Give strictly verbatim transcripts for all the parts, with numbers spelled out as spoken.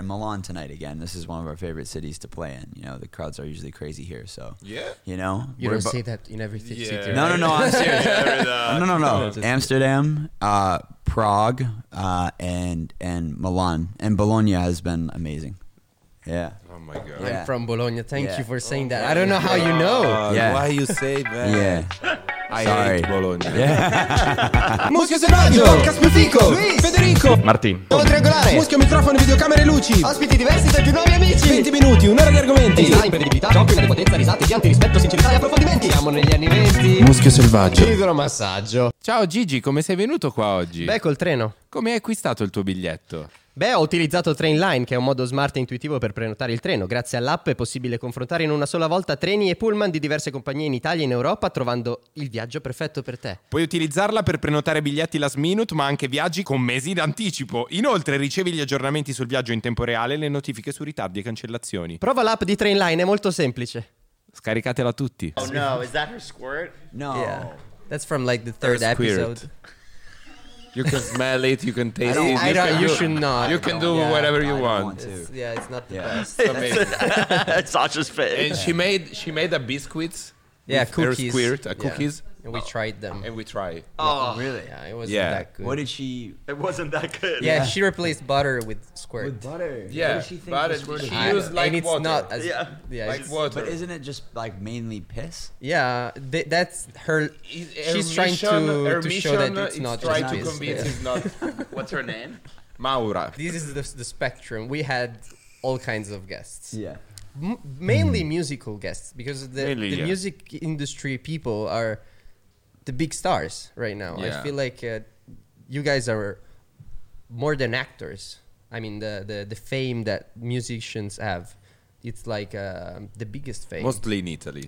in Milan tonight again. This is one of our favorite cities to play in. You know, the crowds are usually crazy here, so yeah. You know, You we're don't bu- say that in every th- Yeah. city. No, no, right? no. I'm serious. Yeah, no, no, no. Just- Amsterdam, uh, Prague, uh, and and Milan and Bologna has been amazing. Yeah. Oh my god. Yeah. I'm from Bologna. Thank Yeah. you for saying that. I don't know how you know. Uh, Yeah. Why you say that? Yeah. I Sorry. hate Bologna. Yeah. Muschio selvaggio, Caspio Fico, Federico, Martin. Nuovo triangolare, Muschio microfono, videocamere e luci, Ospiti diversi tra i più nuovi amici. venti minuti, un'ora di argomenti. Design, imprevedibilità, giochi, di potenza, risate, pianti, rispetto, sincerità e approfondimenti. Siamo negli anni venti. Muschio selvaggio. Idromassaggio. Ciao Gigi, come sei venuto qua oggi? Beh, col treno. Come hai acquistato il tuo biglietto? Beh, ho utilizzato Trainline, che è un modo smart e intuitivo per prenotare il treno. Grazie all'app è possibile confrontare in una sola volta treni e pullman di diverse compagnie in Italia e in Europa, trovando il viaggio perfetto per te. Puoi utilizzarla per prenotare biglietti last minute, ma anche viaggi con mesi d'anticipo. Inoltre ricevi gli aggiornamenti sul viaggio in tempo reale e le notifiche su ritardi e cancellazioni. Prova l'app di Trainline, è molto semplice. Scaricatela tutti. Oh no, is that her squirt? No. Yeah. That's from like the third That's weird. episode. You can smell it, you can taste don't- it. I don't, can you do- should not. You can do Yeah, whatever I you don't want. want to. It's- yeah, it's not the Yeah. best. It's amazing. That's Sasha's face. And she made she made a biscuits. Yeah, with her cookies. squirt, a Yeah. cookies, And we tried them. and we try. Oh, Really? Yeah, it wasn't Yeah. that good. What did she? it wasn't that good. yeah, Yeah. she replaced butter with squirt. With butter. Yeah, What did she think but the it- squirt is? she I- used like and it's water. not as Yeah. yeah, Like it's- water. But isn't it just like mainly piss? yeah. Th- that's her. She's trying to, her to show that mission it's is not try just to piss. convince Yeah. it's not What's her name? Maura. This is the, the spectrum. We had all kinds of guests. Yeah. M- mainly musical guests, because the, Mainly, the yeah. music industry people are the big stars right now. Yeah. I feel like uh, you guys are more than actors. I mean, the, the, the fame that musicians have, it's like uh, the biggest fame. Mostly in Italy.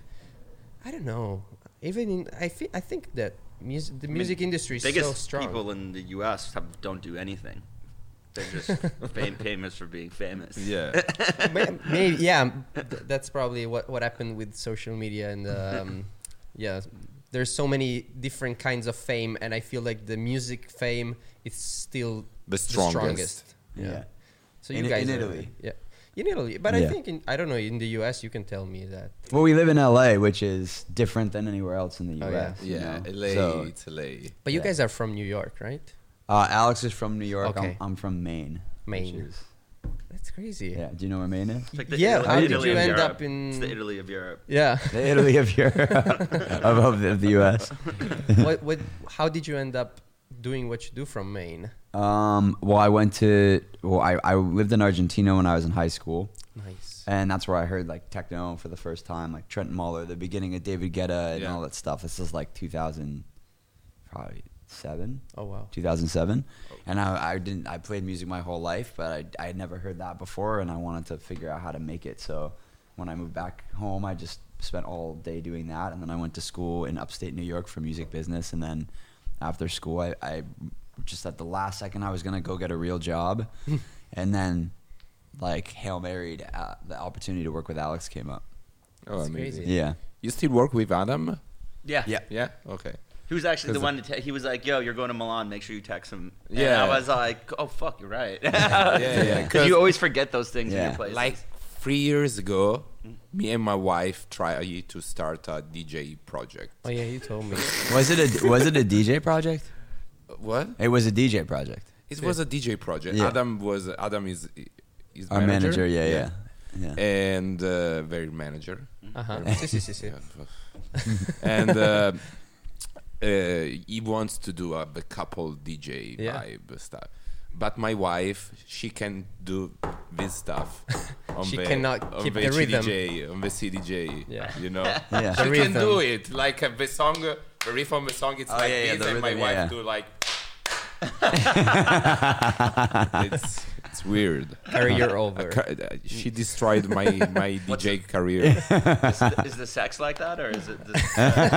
I don't know. Even in, I, fe- I think that mus- the music industry is Biggest so strong. people in the U S have, don't do anything. They're just fam- famous for being famous. Yeah. May- Maybe, yeah. th- that's probably what, what happened with social media and um, yeah. There's so many different kinds of fame, and I feel like the music fame is still The strongest. Yeah. So In- you guys in are- Italy. yeah, in Italy. But I Yeah. think in, I don't know, in the U S you can tell me that. Well, we live in L A, which is different than anywhere else in the Oh, U S. yeah. you Yeah, know? L A, So, it's L A. But you Yeah. guys are from New York, right? uh, Alex is from New York. Okay. I'm, I'm from Maine. which Maine. is- That's crazy. yeah. Do you know where Maine is? It's like the Yeah, Italy, how did Italy you of end Europe. up in- It's the Italy of Europe. Yeah. The Italy of Europe, of, of, the, of the U S. what, what, how did you end up doing what you do from Maine? Um, well, I went to. Well, I, I lived in Argentina when I was in high school, Nice. and that's where I heard like techno for the first time, like Trent Muller, the beginning of David Guetta, and Yeah. all that stuff. This is like two thousand, probably seven. Oh, wow. two thousand seven, and I, I didn't I played music my whole life, but I I had never heard that before, and I wanted to figure out how to make it. So when I moved back home, I just spent all day doing that, and then I went to school in upstate New York for music business, and then after school, I, I just at the last second I was gonna go get a real job, and then like Hail Married, uh, the opportunity to work with Alex came up. Oh, That's amazing. crazy. Yeah, You still work with Adam? Yeah. yeah. Yeah? Okay. He was actually the Cause one to te- he was like, yo, you're going to Milan, make sure you text him. And Yeah. I was like, oh, fuck, you're right. Yeah, yeah. Because you always forget those things in Yeah. your place. Like three years ago, me and my wife tried to start a D J project. Oh, yeah, you told me. Was it a was it a D J project? What? It was a D J project. It was a D J project. Yeah. Adam was Adam is is Our manager, yeah, yeah, yeah. and uh, very manager. Uh-huh. sì, sì, sì, sì. and uh, uh, he wants to do a, a couple D J Yeah. vibe stuff. But my wife, she can do this stuff. On She the, cannot on keep the, the C D J, rhythm. on the C D J. Yeah. You know, Yeah. she The can do rhythm. it. Like uh, the song, the riff on the song, it's Oh, like yeah, yeah, this, the and my rhythm, wife yeah, yeah. do like. it's it's weird. Career over. Uh, ca- uh, she destroyed my my D J career. is, the, is the sex like that, or is it just,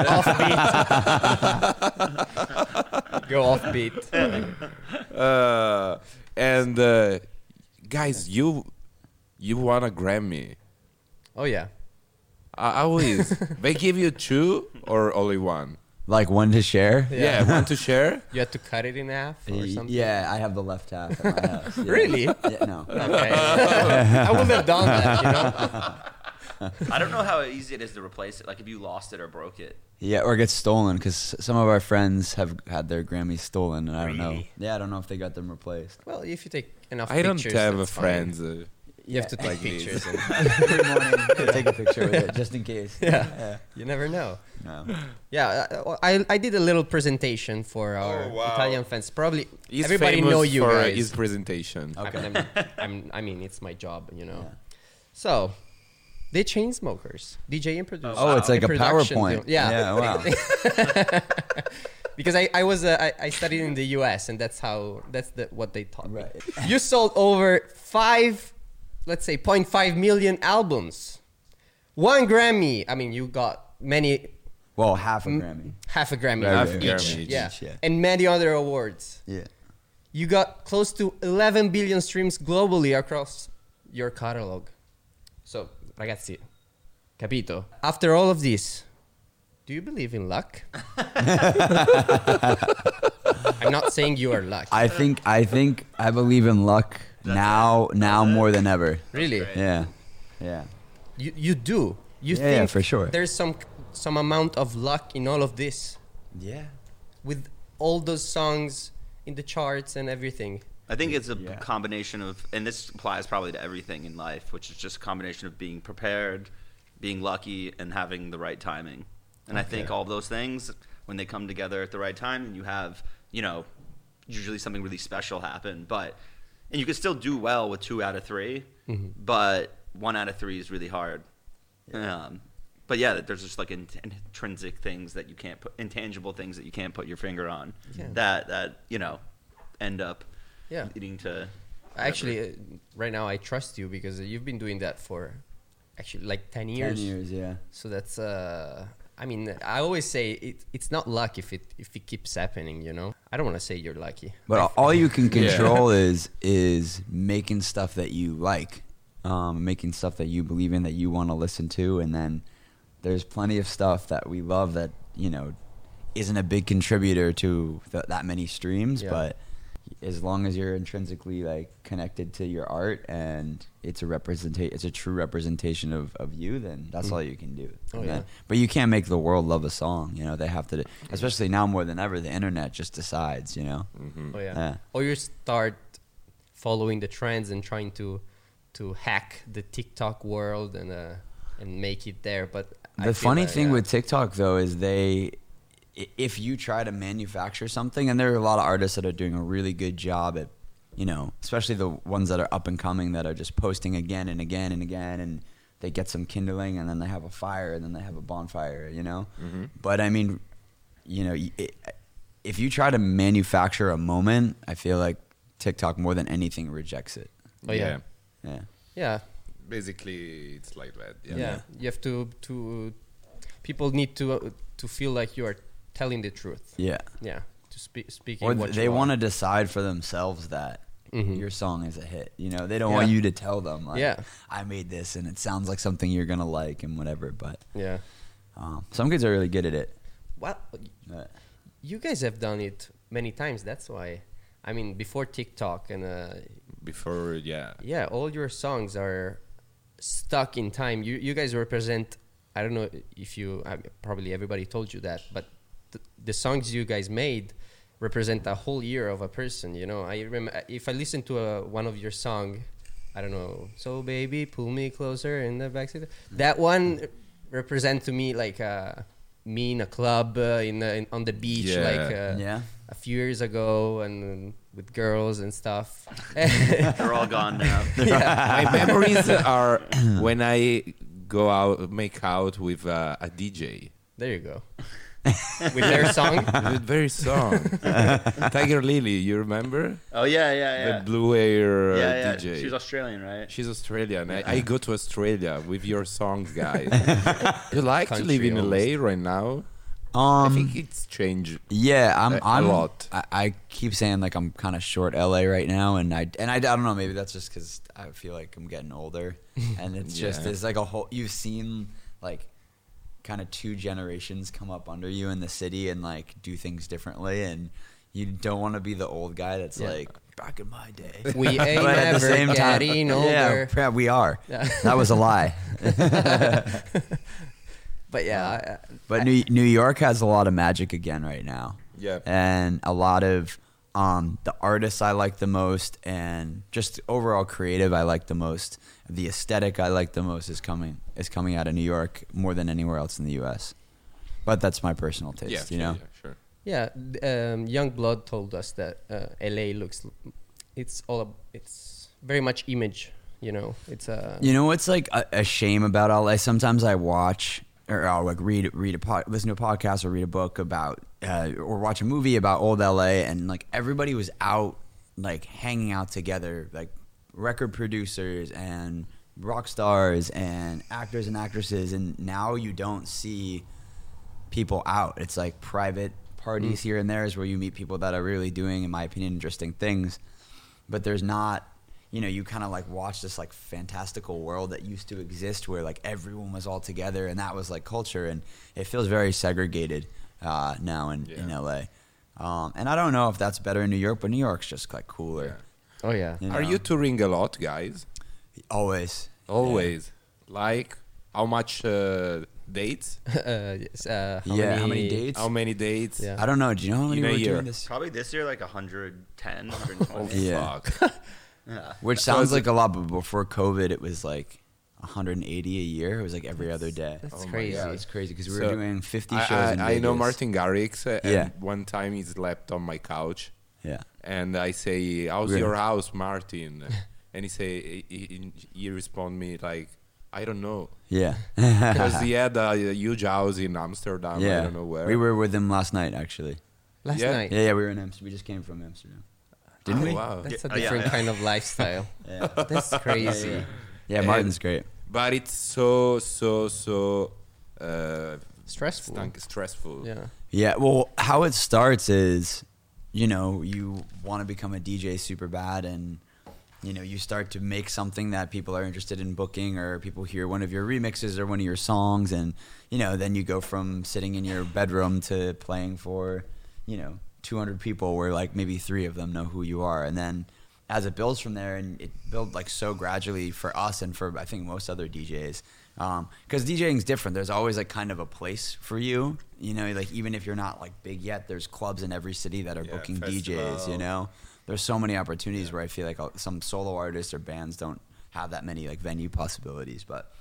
Go offbeat. uh, and uh, guys, you you won a Grammy. Oh, yeah. Uh, how is they give you two or only one? Like one to share. Yeah, want to share? You had to cut it in half or Y- something? Yeah, I have the left half at my house. Yeah. Really? Yeah, no. Okay. I wouldn't have done that, you know? I don't know how easy it is to replace it. Like if you lost it or broke it. Yeah, or gets stolen because some of our friends have had their Grammys stolen, and I don't know. Really? Yeah, I don't know if they got them replaced. Well, if you take enough I don't pictures, have a that's fine. friends. Uh, You have to take Like this. pictures. And Every morning, I take a picture with it just in case. Yeah. you never know. No. Yeah, uh, I I did a little presentation for our Oh, wow. Italian fans. Probably he's everybody famous know you for guys. his presentation. Okay. I'm, I'm, I mean, it's my job, you know. Yeah. So, they chain smokers, D J and producer. Oh, it's like And a production PowerPoint. deal. Yeah. Yeah, wow. Because I, I was uh, I, I studied in the U S and that's how that's the what they taught me. Right. You sold over five, let's say, zero point five million albums, one Grammy. I mean, you got many, Well, half a Grammy. half a Grammy Right, Half right, a right. Grammy each, yeah. each, yeah. and many other awards. Yeah. You got close to eleven billion streams globally across your catalog. So, ragazzi, capito? After all of this, do you believe in luck? I'm not saying you are lucky. I think I think I believe in luck now now more than ever. Really? Yeah. Yeah. You you do. You Yeah, think yeah, for sure. there's some some amount of luck in all of this Yeah. with all those songs in the charts and everything. I think it's a Yeah. combination of, and this applies probably to everything in life, which is just a combination of being prepared, being lucky, and having the right timing. And I think all of those things, when they come together at the right time, and you have, you know, usually something really special happen. But, and you can still do well with two out of three, but one out of three is really hard. Um, but yeah, there's just like int- intrinsic things that you can't put, intangible things that you can't put your finger on, Yeah. that that you know, end up Yeah. leading to. Actually, uh, right now I trust you because you've been doing that for actually like ten years. Ten years, yeah. So that's uh I mean, I always say it, it's not luck if it if it keeps happening, you know. I don't want to say you're lucky. But all you can control is is making stuff that you like, um, making stuff that you believe in, that you want to listen to, and then there's plenty of stuff that we love that, you know, isn't a big contributor to th- that many streams, Yeah. but as long as you're intrinsically like connected to your art and it's a representation, it's a true representation of, of you, then that's all you can do. Oh, And yeah. then- but you can't make the world love a song, you know. They have to, especially now more than ever, the internet just decides, you know. Oh yeah. Yeah. Or you start following the trends and trying to to hack the TikTok world and uh and make it there. But I The feel funny that, thing yeah. with TikTok though is they, i- if you try to manufacture something, and there are a lot of artists that are doing a really good job at, you know, especially the ones that are up and coming that are just posting again and again and again, and they get some kindling, and then they have a fire, and then they have a bonfire, you know. But I mean, you know, y- it, if you try to manufacture a moment, I feel like TikTok more than anything rejects it. Oh yeah. Yeah. Yeah. Basically, it's like that. Yeah. Yeah. You have to to people need to uh, to feel like you are telling the truth. Yeah. Yeah. To speak speaking Or what th- they you want to are. decide for themselves that Mhm. your song is a hit. You know, they don't Yeah. want you to tell them like, Yeah. I made this and it sounds like something you're gonna like and whatever. But Yeah. um, some kids are really good at it. Well, But you guys have done it many times. That's why. I mean, before TikTok and uh, Before, yeah. yeah, all your songs are stuck in time. You you guys represent. I don't know if you uh, probably everybody told you that, but th- the songs you guys made represent a whole year of a person. You know, I remember if I listen to a, one of your song, I don't know. So baby, pull me closer in the backseat. That one represent to me like uh, me in a club uh, in, uh, in on the beach, Yeah. like uh, yeah, a few years ago, and with girls and stuff. They're all gone now. My memories are when I go out, make out with uh, a D J. There you go. With their song. The very song. Tiger Lily, you remember? Oh yeah, yeah, yeah. The blue hair uh, yeah, yeah. D J. She's Australian, right? She's Australian. I, I go to Australia with your songs, guys. You like to live Country in L A right now? I um, think it's changed. yeah, I'm. a- a I'm. lot. I, I keep saying like I'm kind of short L A right now, and I and I, I don't know. Maybe that's just because I feel like I'm getting older, and it's just Yeah. there's like a whole. You've seen like kind of two generations come up under you in the city and like do things differently, and you don't want to be the old guy that's Yeah. like back in my day. We ain't But at the never same time- getting yeah, older. yeah, we are. Yeah. That was a lie. But yeah, I- But New New York has a lot of magic again right now. Yeah. And a lot of um, the artists I like the most, and just overall creative I like the most. The aesthetic I like the most is coming is coming out of New York more than anywhere else in the U S. But that's my personal taste, Yeah, you sure, know. yeah, sure. yeah. th- Um, Young Blood told us that uh, L A looks, it's all, ab- it's very much image. You know, it's a. You know what's like a, a shame about L A? Sometimes I watch or I'll like read read a pod, listen to a podcast or read a book about uh, or watch a movie about old L A, and like everybody was out like hanging out together, like record producers and rock stars and actors and actresses, and now you don't see people out. It's like private parties here and there is where you meet people that are really doing, in my opinion, interesting things, but there's not. You know, you kind of like watch this like fantastical world that used to exist where like everyone was all together and that was like culture, and it feels very segregated uh, now in, in Yeah. L A. Um, and I don't know if that's better in New York, but New York's just like cooler. Oh yeah. You Are know? you touring a lot, guys? Always. Always. Like, how much uh, dates? uh, yes, uh, how Yeah, many, how many dates? How many dates? Yeah. I don't know. Do you know how many In a we're year. doing this? Probably this year, like one hundred ten, one hundred twenty. Yeah. Fuck. Yeah. Which So sounds is like it- a lot, but before COVID, it was like one hundred eighty a year. It was like every other day. That's Oh my crazy. Yeah, it's crazy because we So, were doing fifty I, shows in I, I know Vegas. Martin Garrix, uh, and Yeah. one time he slept on my couch, Yeah. and I say, "How's Really? your house, Martin?" And he say, he, he, he respond me like, "I don't know," Yeah. because he had a, huge house in Amsterdam. yeah. I don't know where. We were with him last night, actually. Last Yeah. night. Yeah, yeah, we were in Amsterdam. We just came from Amsterdam. Didn't Oh, we? Wow. That's Yeah, a yeah, different yeah. kind of lifestyle. Yeah. That's crazy. Yeah, yeah, Martin's great. But it's so so so uh, Stressful. stunk- stressful. Yeah. Yeah, well, how it starts is, you know, you want to become a D J super bad, and, you know, you start to make something that people are interested in booking, or people hear one of your remixes or one of your songs, and, you know, then you go from sitting in your bedroom to playing for, you know, two hundred people where, like, maybe three of them know who you are. And then as it builds from there, and it built, like, so gradually for us and for, I think, most other D Js. Because DJing is different. There's always, like, kind of a place for you. You know, like, even if you're not, like, big yet, there's clubs in every city that are Yeah, booking festival. D Js, you know? There's so many opportunities where I feel like uh, some solo artists or bands don't have that many, like, venue possibilities. But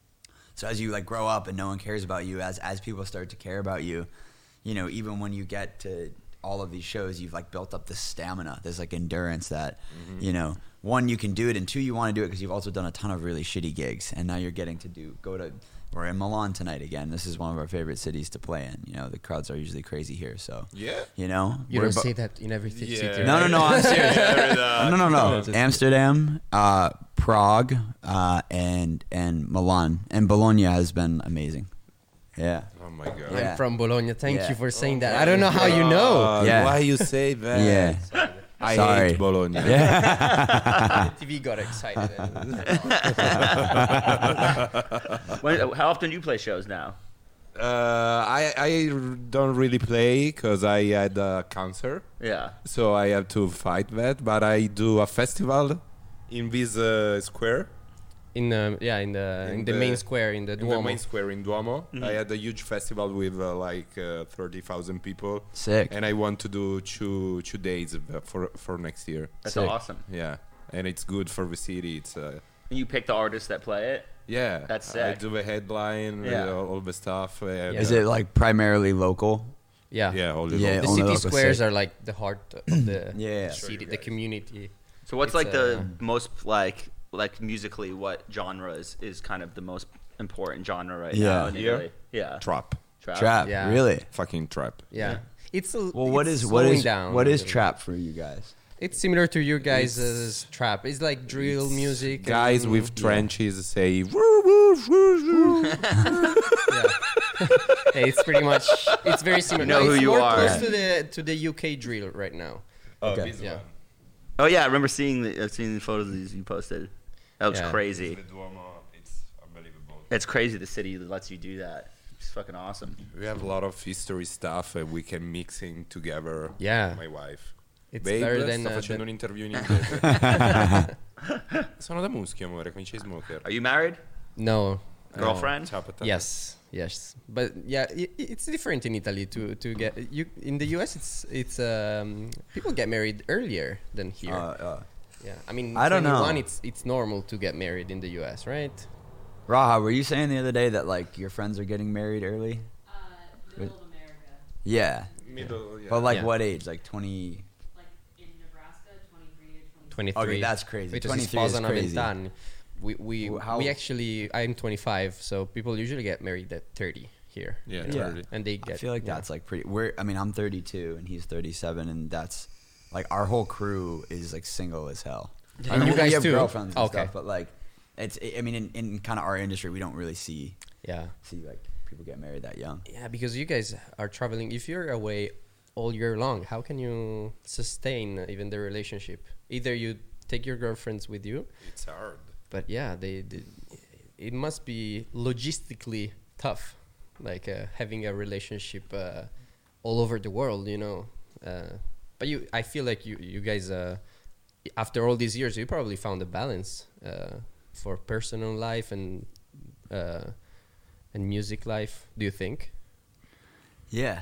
so as you, like, grow up and no one cares about you, as as people start to care about you, you know, even when you get to all of these shows, you've, like, built up this stamina, this, like, endurance that, you know, one, you can do it, and two, you want to do it because you've also done a ton of really shitty gigs, and now you're getting to do go to we're in Milan tonight again. This is one of our favorite cities to play in. You know, the crowds are usually crazy here, so Yeah. you know, You we're don't bo- say that in every th- Yeah. city. no, no, right? no, I'm serious. Yeah. no, no, no. Just- Amsterdam, uh, Prague, uh, and and Milan, and Bologna has been amazing. Yeah, Oh my god. I'm Yeah. from Bologna. Thank Yeah. you for saying that. I don't know how you know. God, Yeah. Why you say that? yeah, I Sorry. hate Bologna. T V got excited. When, how often do you play shows now? Uh, I I don't really play because I had a cancer, Yeah. so I have to fight that. But I do a festival in this uh, square, in the yeah, in the in, In the, the- main square in the in Duomo. the main square in Duomo. I had a huge festival with uh, like uh, thirty thousand people, sick. and I want to do two two days uh, for for next year. That's Sick. awesome. Yeah, and it's good for the city. It's uh, And you pick the artists that play it? yeah. That's I sick. do the headline, Yeah. uh, all the stuff. And, Is uh, it like primarily local? Yeah. Yeah, all the Yeah, The only city local squares sick. are like the heart of the Yeah. city, the community. So what's It's, like the uh, most like like musically what genre is, is kind of the most important genre right Yeah. now in Here? Italy? Yeah. trap, Trap. Trap, Yeah. really? fucking trap. Yeah. It's a, Well, what it's is what slowing is down what a is little trap for you guys? bit. It's similar to your guys' trap. It's like drill music. Guys and- with yeah. trenches say woo woo woo woo. Yeah. Hey, it's pretty much. It's very similar. know No, who it's you more are. close to the to the U K drill right now. Okay. this Yeah. one. Oh yeah, I remember seeing the uh, seeing the photos of these you posted. That looks Yeah. crazy. The Duomo, it's unbelievable. It's crazy the city that lets you do that. It's fucking awesome. We have a lot of history stuff and we can mixing together. Yeah. My wife. It's Babe, better than sto uh, facendo than- un'interview in inglese. Sono da Muschio, amore, con i Chainsmoker. Are you married? no. Girlfriend? Ciao, Patata. Yes, yes, but yeah, i i- it's different in Italy to to get you in the U S. It's it's um people get married earlier than here. Uh, uh, yeah, I mean, I don't know. twenty-one, It's it's normal to get married in the U S, right? Raha, were you saying the other day that like your friends are getting married early? Uh, middle of America. Yeah. Middle, yeah. But like Yeah. what age? Like twenty? Like in Nebraska, twenty-three to twenty-three. Okay, that's crazy. Which twenty-three is crazy. We we Wh- how- we actually I'm twenty-five, so people usually get married at thirty here. Yeah, Yeah. totally. and they I get. feel like yeah. that's like pretty. We're. I mean, I'm thirty-two and he's thirty-seven, and that's like our whole crew is like single as hell. And I mean, you we guys have too? girlfriends and Okay. stuff, but like, it's. I mean, in, in kind of our industry, we don't really see Yeah. see like people get married that young. Yeah, because you guys are traveling. If you're away all year long, how can you sustain even the relationship? Either you take your girlfriends with you, It's hard. but yeah, they, they it must be logistically tough, like uh, having a relationship uh, all over the world, you know. Uh, but you, I feel like you, you guys, uh, after all these years, you probably found a balance uh, for personal life and uh, and music life. Do you think? Yeah.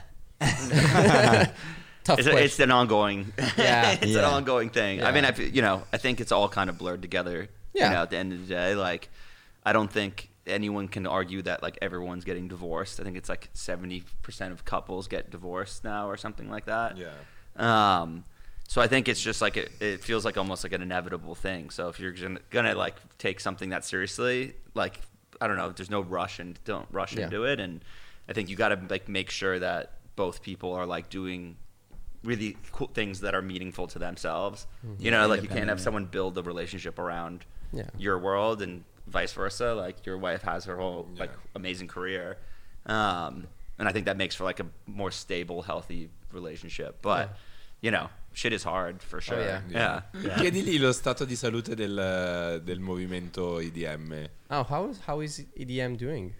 Tough It's, a, question. it's an ongoing. Yeah. it's Yeah. an ongoing thing. I Yeah. mean, I, feel- you know, I think it's all kind of blurred together. Yeah. You know, at the end of the day, like, I don't think anyone can argue that like everyone's getting divorced. I think it's like seventy percent of couples get divorced now or something like that. Yeah. Um, so I think it's just like it, it feels like almost like an inevitable thing. So if you're gonna, gonna like take something that seriously, like I don't know, there's no rush and don't rush Yeah. into it. And I think you got to like make sure that both people are like doing really cool things that are meaningful to themselves. Mm-hmm. You know, like you can't have Independent, yeah. someone build a relationship around Yeah. your world and vice versa. Like your wife has her whole like Yeah. amazing career. Um, and I think that makes for like a more stable, healthy relationship. But, Yeah. you know, shit is hard for sure. yeah. Yeah. yeah. Chiedigli lo stato di salute del, del movimento I D M. Oh, how is how is E D M doing?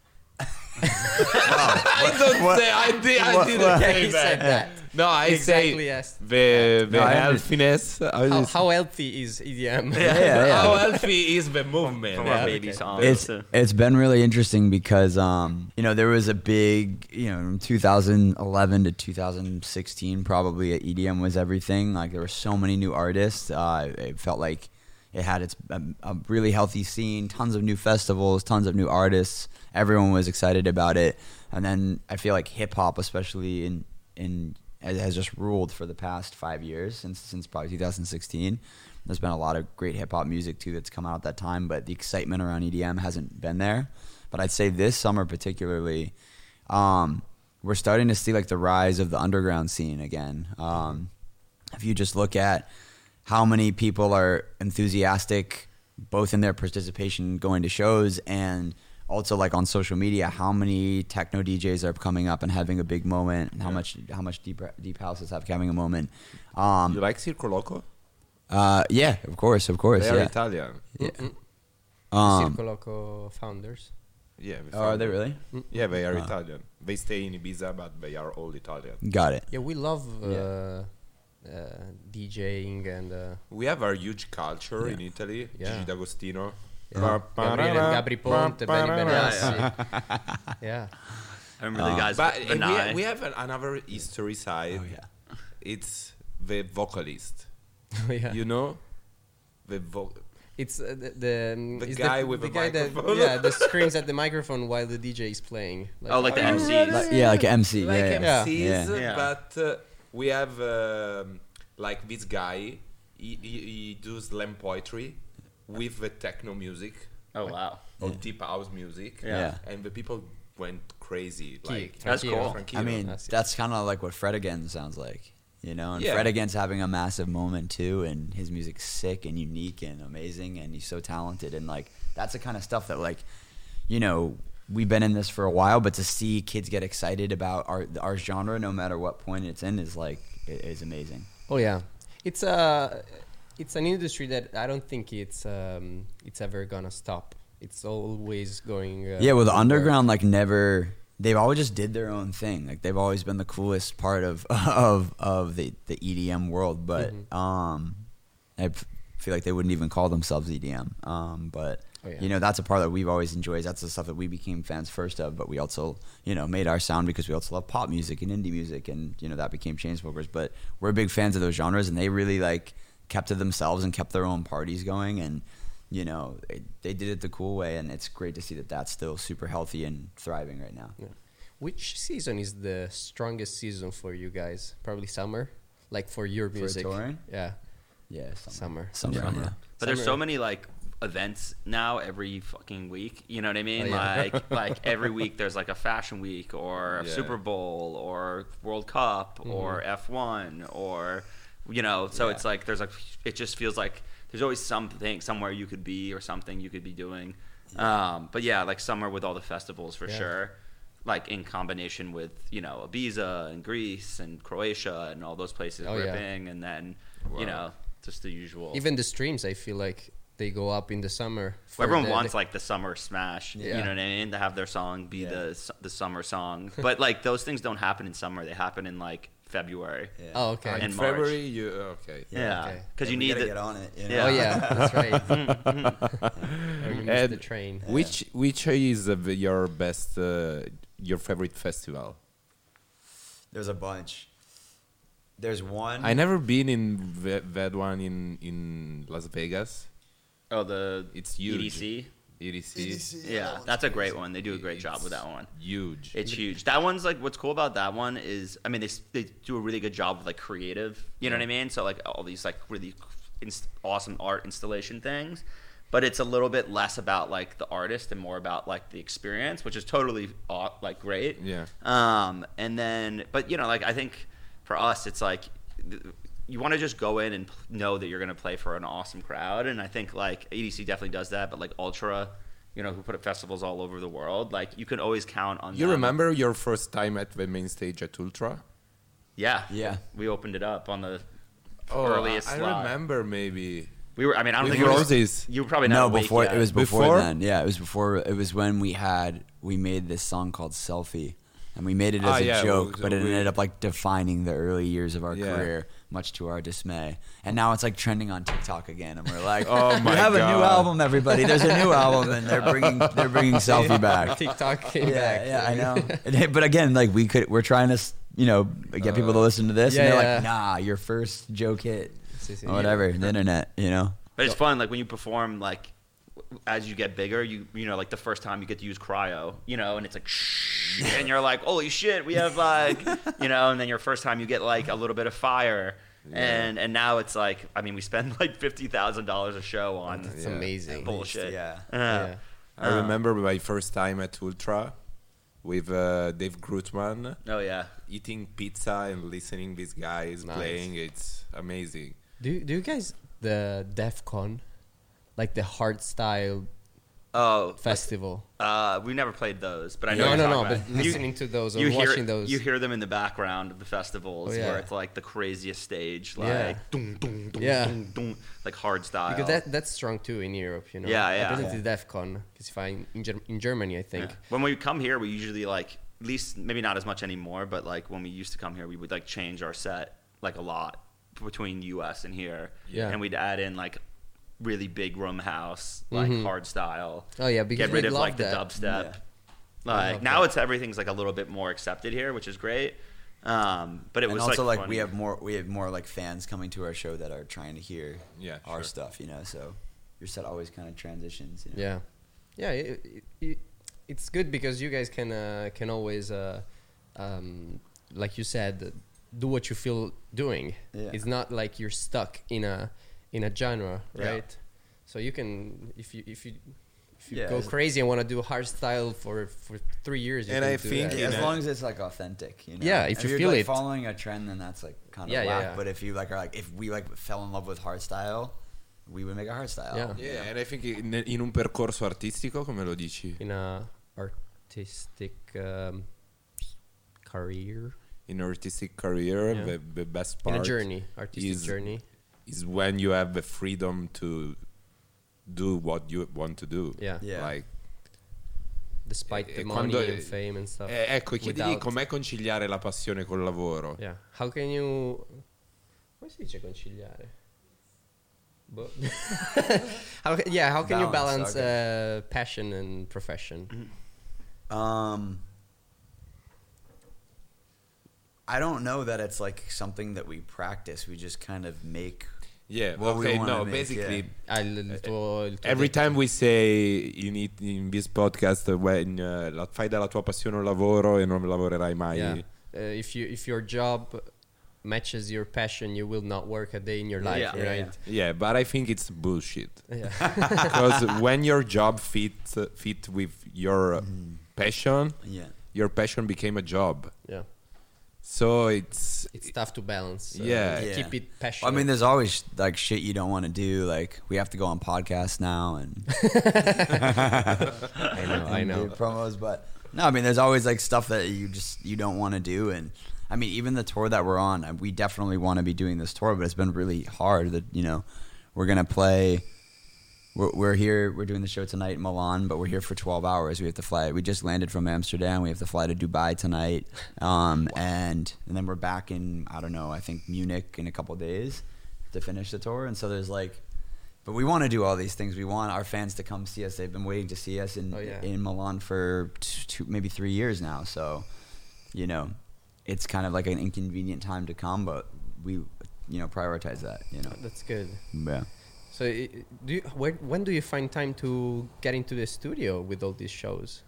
I don't say, I, did, I didn't Yeah, say he said that. No, I Exactly, say yes. the, the No, I healthiness. How, How, is- how healthy is E D M? Yeah, yeah. how healthy is the movement? From Yeah, our baby okay. songs. It's too. it's been really interesting because um you know there was a big you know from two thousand eleven to two thousand sixteen probably at E D M was everything, like there were so many new artists. Uh, it felt like it had its a, a really healthy scene, tons of new festivals, tons of new artists. Everyone was excited about it, and then I feel like hip hop, especially in in has has just ruled for the past five years since since probably two thousand sixteen. There's been a lot of great hip hop music too that's come out at that time, but the excitement around E D M hasn't been there. But I'd say this summer particularly, um, we're starting to see like the rise of the underground scene again. Um, if you just look at how many people are enthusiastic, both in their participation going to shows and also like on social media, how many techno D Js are coming up and having a big moment, and how Yeah. much how much deep deep houses have having a moment. Um, You like Circo Loco? uh, yeah, of course, of course, They are yeah. Italian. Mm-mm. Um, Circo Loco founders. Yeah. we oh, are found they it. really? Yeah, they are Ah. Italian. They stay in Ibiza, but they are all Italian. Got it. Yeah, we love uh, Yeah. uh, DJing and uh, We have our huge culture Yeah. in Italy. Yeah. Gigi D'Agostino. yeah. Gabriele, Gabri Ponte, Benny Benassi. Yeah. I remember the guys But with uh, we, Benai. ha- we have an- another history side. Oh yeah. It's the vocalist. yeah. You know? The vo- It's uh, the the, um, The it's guy the, with the the guy that microphone. yeah the screams at the microphone while the D J is playing. Oh, like the M Cs. Like, yeah, like an M C. like yeah, yeah. M Cs, Yeah. Yeah. but uh, we have um, like this guy. He, he, he does slam poetry with the techno music Oh, wow. or Yeah. deep house music. Yeah. And the people went crazy. Like That's Tranquillo. cool. Tranquillo. I mean, That's it. that's kind of like what Fred again sounds like, you know. And Yeah. Fred again's having a massive moment too, and his music's sick and unique and amazing, and he's so talented, and like that's the kind of stuff that like, you know, we've been in this for a while, but to see kids get excited about our our genre, no matter what point it's in, is like i- is amazing. Oh yeah, it's a it's an industry that I don't think it's um, it's ever gonna stop. It's always going. Uh, Yeah, well, the upward. underground like never they've always just did their own thing. Like they've always been the coolest part of of of the the E D M world. But Mhm. um, I f- feel like they wouldn't even call themselves E D M. Um, but Oh, yeah. you know, that's a part that we've always enjoyed. That's the stuff that we became fans first of. But we also, you know, made our sound because we also love pop music and indie music, and you know that became Chainsmokers. But we're big fans of those genres, and they really like kept to themselves and kept their own parties going, and you know they, they did it the cool way, and it's great to see that that's still super healthy and thriving right now. Yeah. Which season is the strongest season for you guys? Probably summer, like for your For music. touring? Yeah, Yeah, Summer. summer, Summer. yeah. But there's so Summer. many like events now every fucking week. You know what I mean? Oh, yeah. Like like every week there's like a fashion week or a Yeah. Super Bowl or World Cup or F one or you know. So Yeah. it's like there's like it just feels like there's always something somewhere you could be or something you could be doing. Um, but yeah, like summer with all the festivals for Yeah. sure. Like in combination with you know Ibiza and Greece and Croatia and all those places Oh, yeah. ripping, and then you know just the usual. even the streams, I feel like they go up in the summer. for Well, everyone the- wants like the summer smash. Yeah. You know what I mean? To have their song be Yeah. the su- the summer song, but like those things don't happen in summer. They happen in like February. Yeah. Oh, okay. in in March. February, you okay. Yeah, okay. because Yeah, you we need gotta the, get on it. You know? Yeah. Oh yeah, that's right. Or you miss And the train. Which which is uh, your best, uh, your favorite festival? There's a bunch. There's one. I never been in ve- that one in in Las Vegas. oh the It's huge. E D C. E D C. Yeah, that's a great one. They do a great job with that one. Huge. It's huge. That one's like what's cool about that one is I mean they s- they do a really good job with like creative. You know what I mean? So like all these like really inst- awesome art installation things, but it's a little bit less about like the artist and more about like the experience, which is totally aw- like great. Yeah. Um, and then but you know like I think for us it's like th- you want to just go in and p- know that you're going to play for an awesome crowd, and I think like E D C definitely does that, but like Ultra, you know, who put up festivals all over the world, like you can always count on You them. remember your first time at the main stage at Ultra? Yeah. Yeah. We opened it up on the Oh, earliest I, I slot. remember maybe. We were I mean I don't With think it was, Roses. you were probably No, not awake before yet. it was before, Before? then. Yeah, it was before. It was when we had we made this song called Selfie, and we made it as Ah, a yeah, joke, well, but so it we- ended up like defining the early years of our Yeah. career, much to our dismay. And now it's like trending on TikTok again, and we're like, Oh we my have a new God. album, everybody. There's a new album, and they're bringing they're bringing Selfie back. TikTok came Yeah, back. yeah, I know. But again, like we could, we're trying to, s- you know, get people to listen to this, yeah, and they're yeah. like, nah, your first joke hit, Si, si. or whatever, the internet, you know. But it's fun, like when you perform, like w- as you get bigger, you you know, like the first time you get to use cryo, you know, and it's like, shh, and you're like, holy shit, we have like, you know, and then your first time you get like a little bit of fire, and and now it's like, I mean, we spend like fifty thousand dollars a show on It's Yeah. amazing. bullshit. Yeah. Uh, Yeah. I remember my first time at Ultra with uh, Dave Grutman, Oh yeah. eating pizza and listening these guys Nice. playing. It's amazing. Do do you guys the DEF CON, like the hard style Oh, festival? uh, we never played those, but I know No, what no, you're no. talking But about. You- listening to those or you hear, watching those. You hear them in the background of the festivals Oh, yeah. where it's like the craziest stage, like Yeah. dun, dun, dun, Yeah. dun, dun, like hard style. because that that's strong too in Europe, you know. Yeah, yeah. I been Yeah. to DEF CON because if I in, Ger- in Germany, I think. Yeah. When we come here, we usually like, at least maybe not as much anymore, but like when we used to come here, we would like change our set like a lot between U S and here. Yeah. And we'd add in like really big room house, like Mhm. hard style. Oh yeah, because Get rid we of love like the that. dubstep. Yeah. Like love now that. it's everything's like a little bit more accepted here, which is great. Um, but it And was also like, like, we funny. have more we have more like fans coming to our show that are trying to hear Yeah, our sure. stuff, you know. So your set always kind of transitions. You know? Yeah, yeah. It, it, it, it's good because you guys can uh, can always, uh, um, like you said, do what you feel doing. Yeah. It's not like you're stuck in a in a genre, Yeah. right? So you can if you if you if you Yeah, go it's- crazy and want to do hard style for for three years, you And can I do think that. Yeah, in as a- long as it's like authentic, you know. Yeah, if you you're feel like it. following a trend, then that's like kind of Yeah, yeah, whack. yeah. But if you like are like if we like fell in love with hard style, we would make a hard style. Yeah. you Yeah, know? and I think in, in un percorso artistico, come lo dici? in a artistic um, career, In an artistic career, Yeah. the, the best in part a journey, artistic is- journey. is when you have the freedom to do what you want to do. Yeah. Yeah. Like despite the E money quando- and fame and stuff. Eh, ecco, chiedigli without- com'è conciliare la passione col lavoro. Yeah. How can you... Come si dice conciliare? Boh. how, ca- yeah, how can you Balance, balance uh, passion and profession? Um, I don't know that it's like something that we practice. We just kind of make. Yeah, What we okay, wanna no, make, basically, yeah. Ah, il, il tuo, il tuo every detto. time we say in, it, in this podcast, when uh, la- fai dalla tua passione un lavoro e non lavorerai mai. Yeah. Uh, if you if your job matches your passion, you will not work a day in your life, Yeah. right? Yeah, Yeah, but I think it's bullshit. Yeah. Because when your job fit fit with your uh, passion, Yeah. your passion became a job. yeah. So it's It's tough to balance. uh, Yeah. Yeah. Keep it Well, passionate. I mean, there's always like shit you don't want to do. Like we have to go on podcasts now and I know, I and know. do promos, but no, I mean, there's always like stuff that you just you don't want to do, and I mean, even the tour that we're on, uh, we definitely want to be doing this tour, but it's been really hard. That you know, we're gonna play. We're, we're here. We're doing the show tonight in Milan, but we're here for twelve hours. We have to fly. We just landed from Amsterdam. We have to fly to Dubai tonight, um, and and then we're back in I don't know. I think Munich in a couple days to finish the tour. And so there's like, but we want to do all these things. We want our fans to come see us. They've been waiting to see us in Oh, yeah. in Milan for t- two, maybe three years now. So, you know, it's kind of like an inconvenient time to come, but we, you know, prioritize that. You know, That's good. yeah. So, i- i- do you, when, when do you find time to get into the studio with all these shows?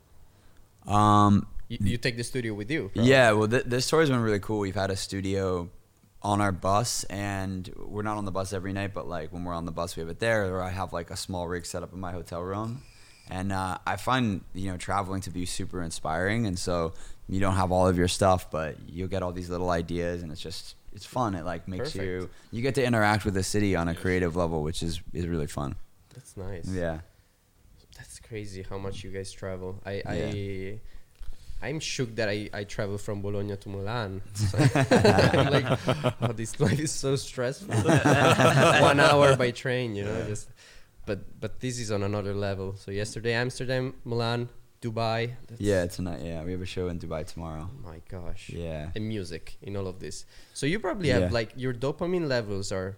Um, You, you take the studio with you? probably. yeah. Well, th- this tour has been really cool. We've had a studio on our bus, and we're not on the bus every night, but like when we're on the bus, we have it there. Or I have like a small rig set up in my hotel room, and uh, I find you know traveling to be super inspiring. And so you don't have all of your stuff, but you'll get all these little ideas, and it's just it's fun. It like makes Perfect. you you get to interact with the city on a creative level, which is is really fun. That's nice. Yeah. That's crazy how much you guys travel. I, Yeah. I I'm shook that I, I travel from Bologna to Milan. It's like- I'm like, oh, this life is so stressful. One hour by train, you know. Just, but but this is on another level. So yesterday Amsterdam, Milan, Dubai. That's, Yeah, tonight. Yeah, we have a show in Dubai tomorrow. Oh my gosh. Yeah. And music in all of this. So you probably have Yeah. like your dopamine levels are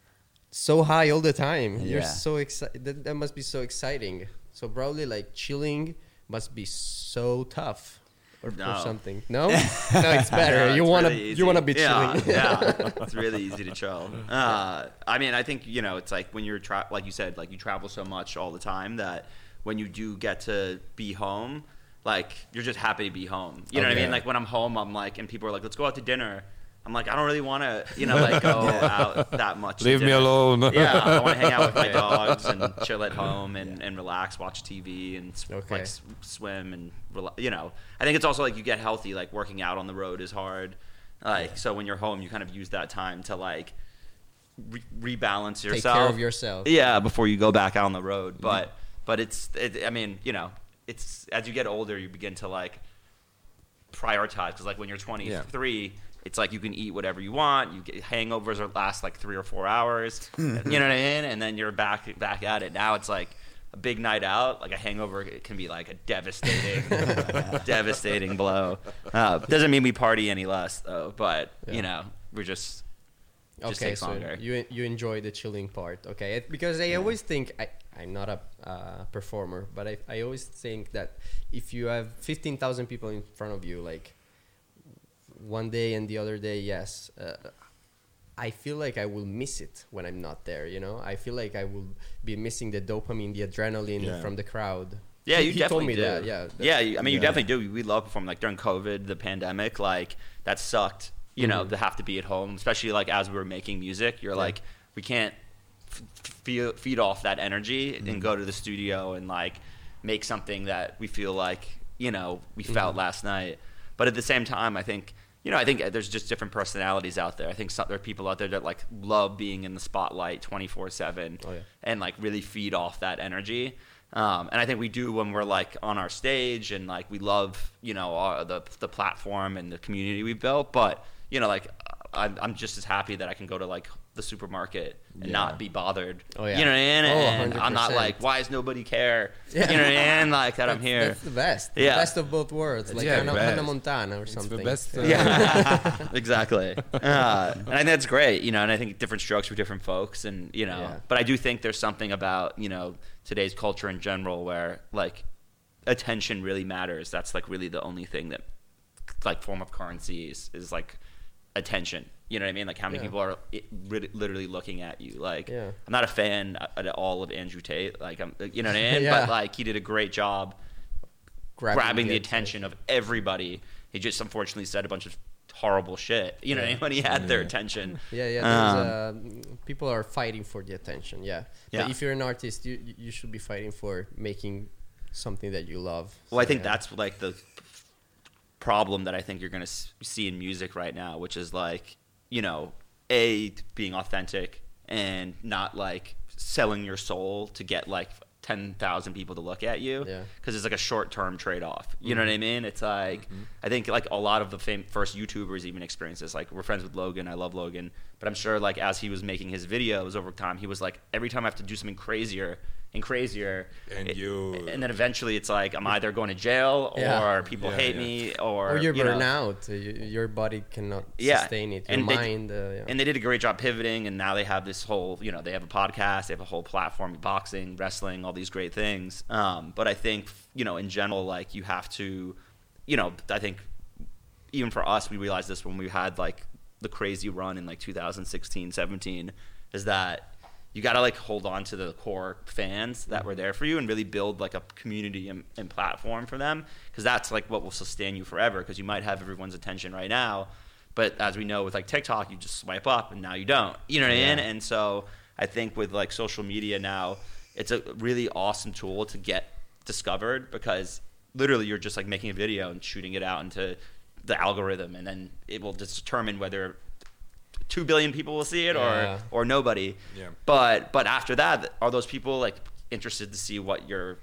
so high all the time. You're Yeah. so excited. That, that must be so exciting. So probably like chilling must be so tough. Or, or No. something. No, no, it's better. Yeah, you it's wanna really you easy. wanna be yeah, chilling. yeah, it's really easy to chill. Uh, I mean, I think you know, it's like when you're tra- like you said, like you travel so much all the time that when you do get to be home, like you're just happy to be home. You know what I Okay. mean? Like when I'm home, I'm like, and people are like, "Let's go out to dinner." I'm like, I don't really want to, you know, like go out that much. to Leave me dinner. alone. Yeah, I want to hang out with my dogs and chill at home and, and relax, watch T V and s- Okay. like s- swim and rela- you know. I think it's also like you get healthy. Like working out on the road is hard. Like so when you're home, you kind of use that time to like re- rebalance Take yourself. care of yourself. Yeah, before you go back out on the road. But but it's it, I mean you know it's as you get older you begin to like prioritize because like when you're twenty-three. It's like you can eat whatever you want. You get hangovers are last like three or four hours. You know what I mean? And then you're back back at it. Now it's like a big night out. Like a hangover, it can be like a devastating, devastating blow. Uh, doesn't mean we party any less though. But Yeah. you know, we're just just Okay, takes so longer. you you enjoy the chilling part, okay? It, because I always think I I'm not a uh, performer, but I I always think that if you have fifteen thousand people in front of you, like one day and the other day, yes, uh, I feel like I will miss it when I'm not there. You know, I feel like I will be missing the dopamine, the adrenaline Yeah. from the crowd. Yeah, He- you he definitely told me do. that. Yeah, that- yeah. you- I mean, you Yeah. definitely do. We love performing. Like during COVID, the pandemic, like that sucked. You know, Mhm. to have to be at home, especially like as we were making music. You're Yeah. like, we can't f- feel, feed off that energy and go to the studio and like make something that we feel like you know we felt Mhm. last night. But at the same time, I think. You know, I think there's just different personalities out there. I think some, there are people out there that like love being in the spotlight twenty-four seven Oh, yeah. and like really feed off that energy. Um, and I think we do when we're like on our stage and like we love, you know, our, the the platform and the community we've built. But you know, like I'm, I'm just as happy that I can go to like the supermarket and Yeah. not be bothered. Oh, yeah. You know what I mean? Oh, and I'm not one hundred percent. like, why does nobody care? Yeah. You know what I mean? Like that I'm That's- here. That's the best. Yeah. The best of both worlds. Like Yeah, Hannah, best. Hannah Montana or It's something. the best. Uh, Yeah, exactly. Uh, and I think that's great, you know. And I think different strokes for different folks, and you know. Yeah. But I do think there's something about you know today's culture in general where like attention really matters. That's like really the only thing that like form of currency is, is like attention. You know what I mean? Like how many Yeah. people are i- ri- literally looking at you? Like Yeah. I'm not a fan at all of Andrew Tate. Like I'm, you know what I mean? Yeah. But like he did a great job grabbing, the attention of everybody. He just unfortunately said a bunch of horrible shit. You know what I mean? When he had their Yeah. attention. Yeah, yeah. There's, uh, people are fighting for the attention. Yeah. Yeah. But if you're an artist, you you should be fighting for making something that you love. Well, I So, think yeah. that's like the problem that I think you're going to see in music right now, which is like, you know, A, being authentic and not like selling your soul to get like ten thousand people to look at you. Yeah. Because it's like a short term trade off. You know what I mean? It's like, I think like a lot of the fam- first YouTubers even experience this. Like, we're friends with Logan. I love Logan. But I'm sure like as he was making his videos over time, he was like, every time I have to do something crazier and crazier. And it- you- And then eventually it's like, I'm either going to jail Yeah. or people Yeah, hate yeah. me or, Or you're you know. burnt out. Uh, you, your body cannot Yeah. sustain it. Your And they- mind. Uh, yeah. And they did a great job pivoting, and now they have this whole, you know, they have a podcast, they have a whole platform, boxing, wrestling, all these great things. Um, but I think, you know, in general, like you have to, you know, I think even for us, we realized this when we had like the crazy run in like two thousand sixteen, seventeen, is that you got to like hold on to the core fans that were there for you and really build like a community and, and platform for them, because that's like what will sustain you forever, because you might have everyone's attention right now, but as we know with like TikTok, you just swipe up and now you don't, you know what I mean? And so I think with like social media now, it's a really awesome tool to get discovered, because literally you're just like making a video and shooting it out into the algorithm, and then it will just determine whether two billion people will see it Yeah. or or nobody. Yeah. But but after that, are those people like interested to see what your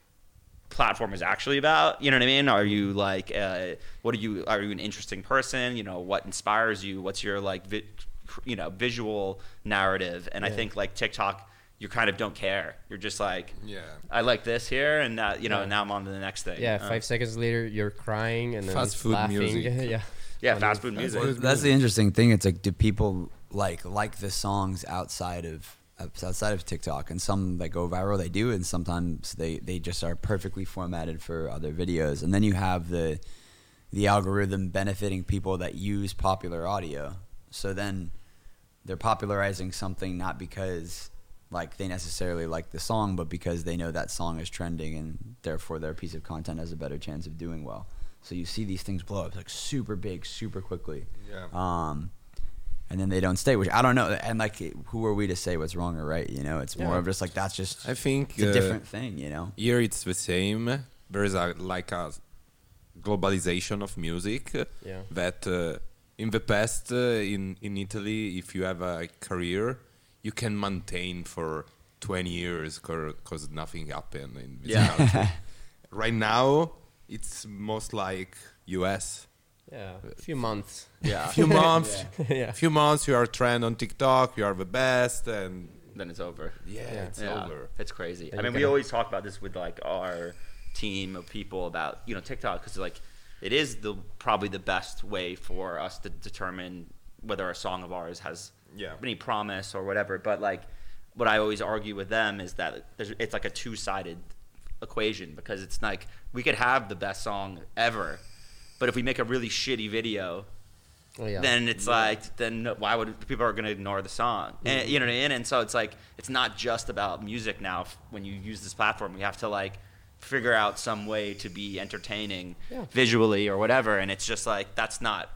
platform is actually about? You know what I mean? Are you like uh, what are you are you an interesting person? You know, what inspires you? What's your like vi- you know visual narrative? And I Yeah. think like TikTok, you kind of don't care. You're just like, Yeah. I like this here, and uh, you know, Yeah. now I'm on to the next thing. yeah. Uh, Five seconds later, you're crying and then Fast food laughing. music. yeah. yeah, Funny. fast food music. Fast food. That's the interesting thing. It's like, do people like like the songs outside of outside of TikTok? And some that go viral, they do, and sometimes they they just are perfectly formatted for other videos. And then you have the the algorithm benefiting people that use popular audio. So then they're popularizing something not because like they necessarily like the song, but because they know that song is trending, and therefore their piece of content has a better chance of doing well. So you see these things blow up like super big, super quickly. Yeah. Um, and then they don't stay, which I don't know. And like, who are we to say what's wrong or right? You know, it's more Yeah. of just like, that's just I think it's a uh, different thing, you know? Here it's the same. There is a like a globalization of music. Yeah. That uh, in the past uh, in in Italy, if you have a career, you can maintain for twenty years because nothing happened in this Yeah. country. Right now, it's most like U S. Yeah. A few months. Yeah. Few months, yeah. few months, you are trend on TikTok. You are the best, and Then it's over. yeah, Yeah. it's Yeah, over. it's crazy. And I you mean, we gotta- always talk about this with like our team of people about you know TikTok, because like it is the probably the best way for us to determine whether a song of ours has Yeah. any promise or whatever. But like what I always argue with them is that there's, it's like a two-sided equation, because it's like we could have the best song ever, but if we make a really shitty video, Oh, yeah. then it's like, then why would people are going to ignore the song? And, you know what I mean? And so it's like, it's not just about music now. F- When you use this platform, you have to like figure out some way to be entertaining Yeah. visually or whatever. And it's just like, that's not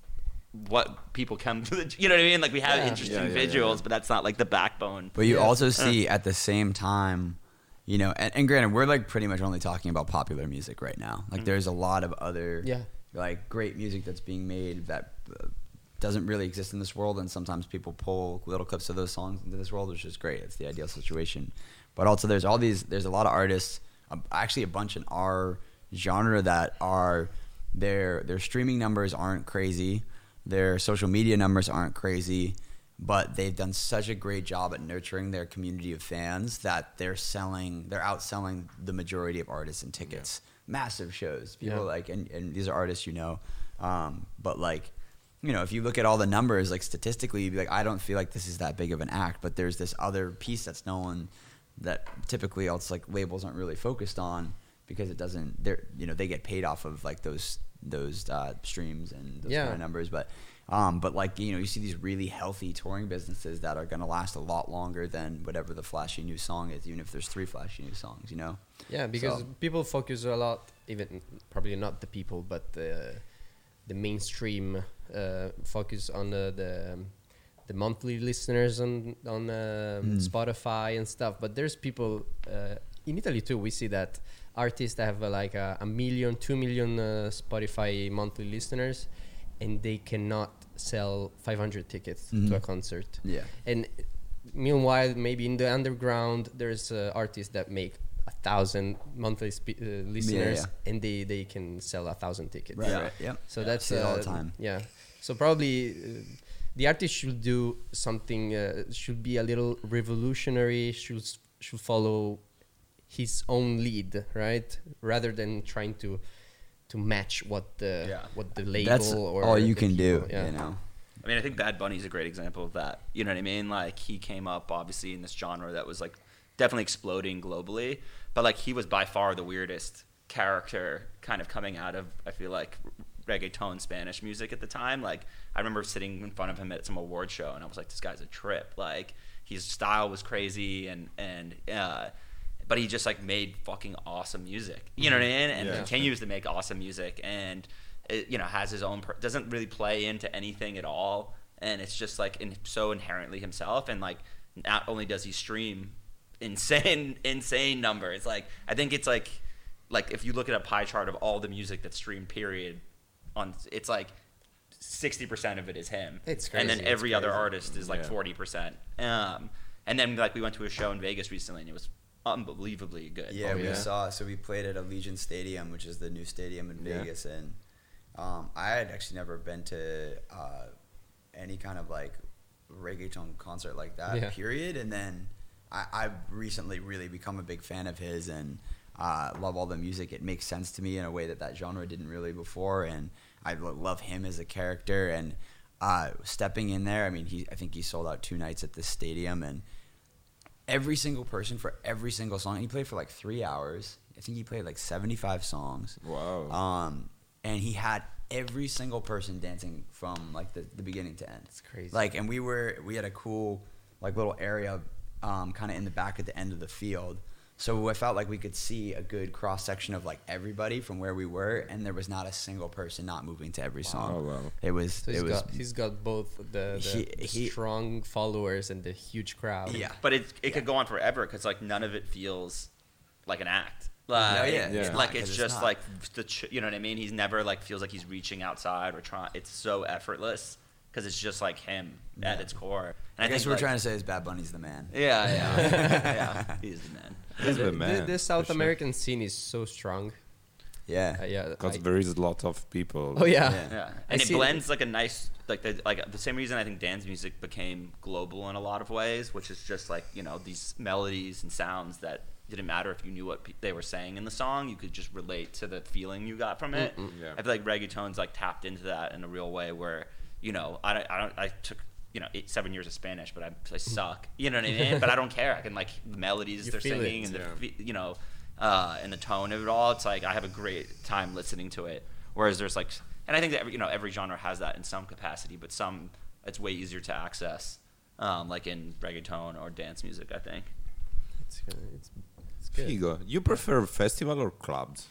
what people come to the, you know what I mean? Like we have Yeah. interesting Yeah, yeah, yeah, visuals, yeah. but that's not like the backbone. But you Yeah. also see at the same time, you know, and, and granted, we're like pretty much only talking about popular music right now. Like there's a lot of other Yeah. like great music that's being made that uh, doesn't really exist in this world, and sometimes people pull little clips of those songs into this world, which is great. It's the ideal situation. But also there's all these there's a lot of artists, um, actually a bunch in our genre that are their their streaming numbers aren't crazy, their social media numbers aren't crazy, but they've done such a great job at nurturing their community of fans that they're selling, they're outselling the majority of artists in tickets. Yeah. Massive shows. People Yeah. like, and, and these are artists, you know, um, but like, you know, if you look at all the numbers, like statistically, you'd be like, I don't feel like this is that big of an act, but there's this other piece that's no one, that typically else like labels aren't really focused on because it doesn't, they're, you know, they get paid off of like those, those uh, streams and those Yeah. kind of numbers. But, um, but like, you know, you see these really healthy touring businesses that are going to last a lot longer than whatever the flashy new song is, even if there's three flashy new songs, you know? Yeah, because So- people focus a lot, even probably not the people, but the the mainstream uh, focus on the the, um, the monthly listeners on on um, Spotify and stuff. But there's people uh, in Italy too. We see that artists that have uh, like a, a million, two million uh, Spotify monthly listeners, and they cannot sell five hundred tickets to a concert. Yeah. And meanwhile, maybe in the underground, there's uh, artists that make a thousand monthly spe- uh, listeners, yeah. and they, they can sell a thousand tickets. Right, right, yep. So Yeah, that's see it all the uh, time. Yeah. So probably uh, the artist should do something. Uh, should be a little revolutionary. Should s- should follow his own lead, right? Rather than trying to to match what the Yeah. what the label That's or all you the can do, people- yeah. you know? I mean, I think Bad Bunny's a great example of that. You know what I mean? Like, he came up, obviously, in this genre that was, like, definitely exploding globally. But, like, he was by far the weirdest character kind of coming out of, I feel like, reggaeton Spanish music at the time. Like, I remember sitting in front of him at some award show, and I was like, this guy's a trip. Like, his style was crazy, and, and uh, but he just, like, made fucking awesome music. You know what I mean? And Yeah. continues to make awesome music. And it, you know, has his own per- doesn't really play into anything at all, and it's just like in, so inherently himself. And like, not only does he stream insane insane numbers, like I think it's like like if you look at a pie chart of all the music that's streamed, period, on it's like sixty percent of it is him. It's and then crazy. every It's other crazy. artist is like Yeah. forty percent. Um, and then like we went to a show in Vegas recently, and it was unbelievably good. Yeah, Oh, we yeah? saw. So we played at Allegiant Stadium, which is the new stadium in Yeah. Vegas, and um, I had actually never been to uh, any kind of like reggaeton concert like that. Yeah. Period. And then I, I've recently really become a big fan of his, and uh, love all the music. It makes sense to me in a way that that genre didn't really before, and I lo- love him as a character. And uh, stepping in there, I mean, he I think he sold out two nights at this stadium, and every single person for every single song. He played for like three hours. I think he played like seventy-five songs. Wow. Um, and he had every single person dancing from like the, the beginning to end. It's crazy. Like, and we were we had a cool like little area, um, kind of in the back at the end of the field. So I felt like we could see a good cross section of like everybody from where we were, and there was not a single person not moving to every song. Oh, wow. It was So it he's was got he's got both the, the, He- the he- strong followers and the huge crowd. yeah. But it it could go on forever because like none of it feels like an act. Like, No, yeah, Yeah. it's not, like 'cause it's it's just not. like the ch- you know what I mean. He's never like feels like he's reaching outside or trying. It's so effortless because it's just like him at Yeah. its core. And I guess think, we're like, trying to say is Bad Bunny's the man. Yeah, yeah, yeah. He's the man. He's The, the the, man. the South for sure. American scene is so strong. Yeah. Uh, yeah. Because I- there is a lot of people. oh yeah. Yeah. Yeah, I and it see it. blends like a nice like the like the same reason I think dance music became global in a lot of ways, which is just like you know these melodies and sounds that didn't matter if you knew what pe- they were saying in the song, you could just relate to the feeling you got from it. Yeah. I feel like reggaeton's like tapped into that in a real way where you know I don't, I don't I took you know eight seven years of Spanish, but I, I suck. You know what I mean? But I don't care. I can like the melodies You they're feel singing it, and the yeah. fe- you know uh, and the tone of it all. It's like I have a great time listening to it. Whereas there's like, and I think that every, you know every genre has that in some capacity, but some it's way easier to access, um, like in reggaeton or dance music. I think. It's, uh, it's, it's good. Figo, you prefer festival or clubs?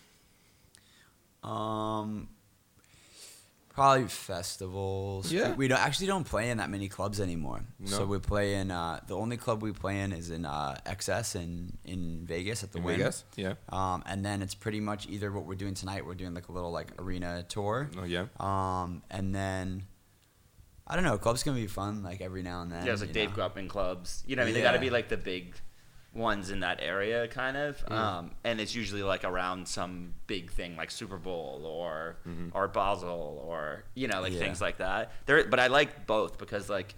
Um, probably festivals. Yeah. we, we don't actually don't play in that many clubs anymore. No? So we play in uh, the only club we play in is in uh, X S in in Vegas at the In Wynn. Vegas? Yeah. Um, and then it's pretty much either what we're doing tonight. We're doing like a little like arena tour. Oh, yeah. Um, and then I don't know. Clubs can be fun like every now and then. Yeah, it's like you Dave know? grew up in clubs. You know, what I mean, they got to Yeah. be like the big ones in that area, kind of. Um, and it's usually like around some big thing, like Super Bowl or or Basel or you know, like Yeah. things like that. There, but I like both because like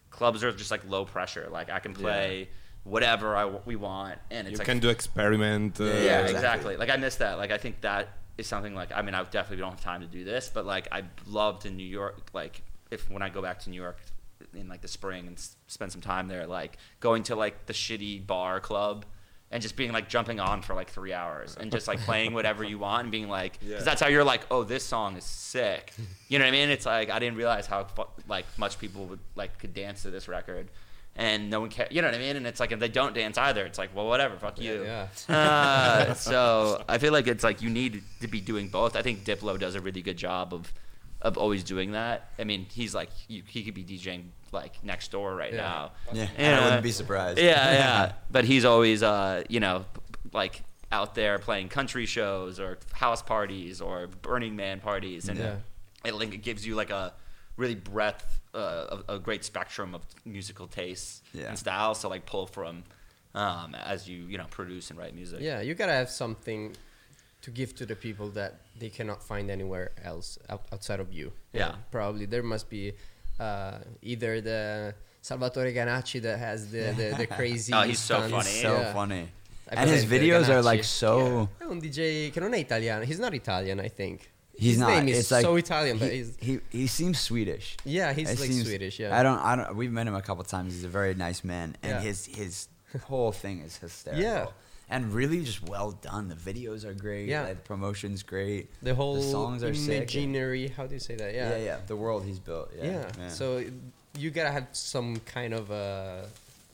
clubs are just like low pressure. Like I can play whatever I w- we want, and it's You like can do experiment. Uh, yeah, exactly. exactly. Like I miss that. Like I think that is something like I mean I definitely don't have time to do this, but like I loved in New York. Like if when I go back to New York in like the spring and s- spend some time there, like going to like the shitty bar club and just being like jumping on for like three hours and just like playing whatever you want and being like, because Yeah. that's how you're like, oh, this song is sick. You know what I mean? It's like I didn't realize how fu- like much people would like could dance to this record. And no one cares, you know what I mean? And it's like, if they don't dance either, it's like, well, whatever, fuck you. Yeah. Uh, so I feel like it's like you need to be doing both. I think Diplo does a really good job of of always doing that. I mean, he's like, you, he could be DJing like next door right Yeah. now. Yeah, And, I uh, wouldn't be surprised. Yeah, yeah. But he's always, uh, you know, like out there playing country shows or house parties or Burning Man parties. And Yeah. it, like, it gives you like a really breadth, uh, a, a great spectrum of musical tastes Yeah. and styles to like pull from um, as you, you know, produce and write music. Yeah, you gotta have something to give to the people that they cannot find anywhere else out, outside of you. Yeah. Probably there must be uh, either the Salvatore Ganacci that has the the, the crazy. Oh, he's so stunts. funny. So Yeah. funny. I And his presente videos are Ganacci. like so. È un D J che non è italiano. He's not Italian, I think. He's His not. name is it's like so Italian, but he, he's he he seems Swedish. yeah, he's It like seems- Swedish. Yeah. I don't. I don't. We've met him a couple times. He's a very nice man, and Yeah. his his whole thing is hysterical. Yeah. And really just well done. The videos are great. Yeah. Like, the promotion's great. The whole songs are sick. imaginary. How do you say that? Yeah. Yeah. yeah, The world he's built. Yeah. Yeah. So you gotta have some kind of a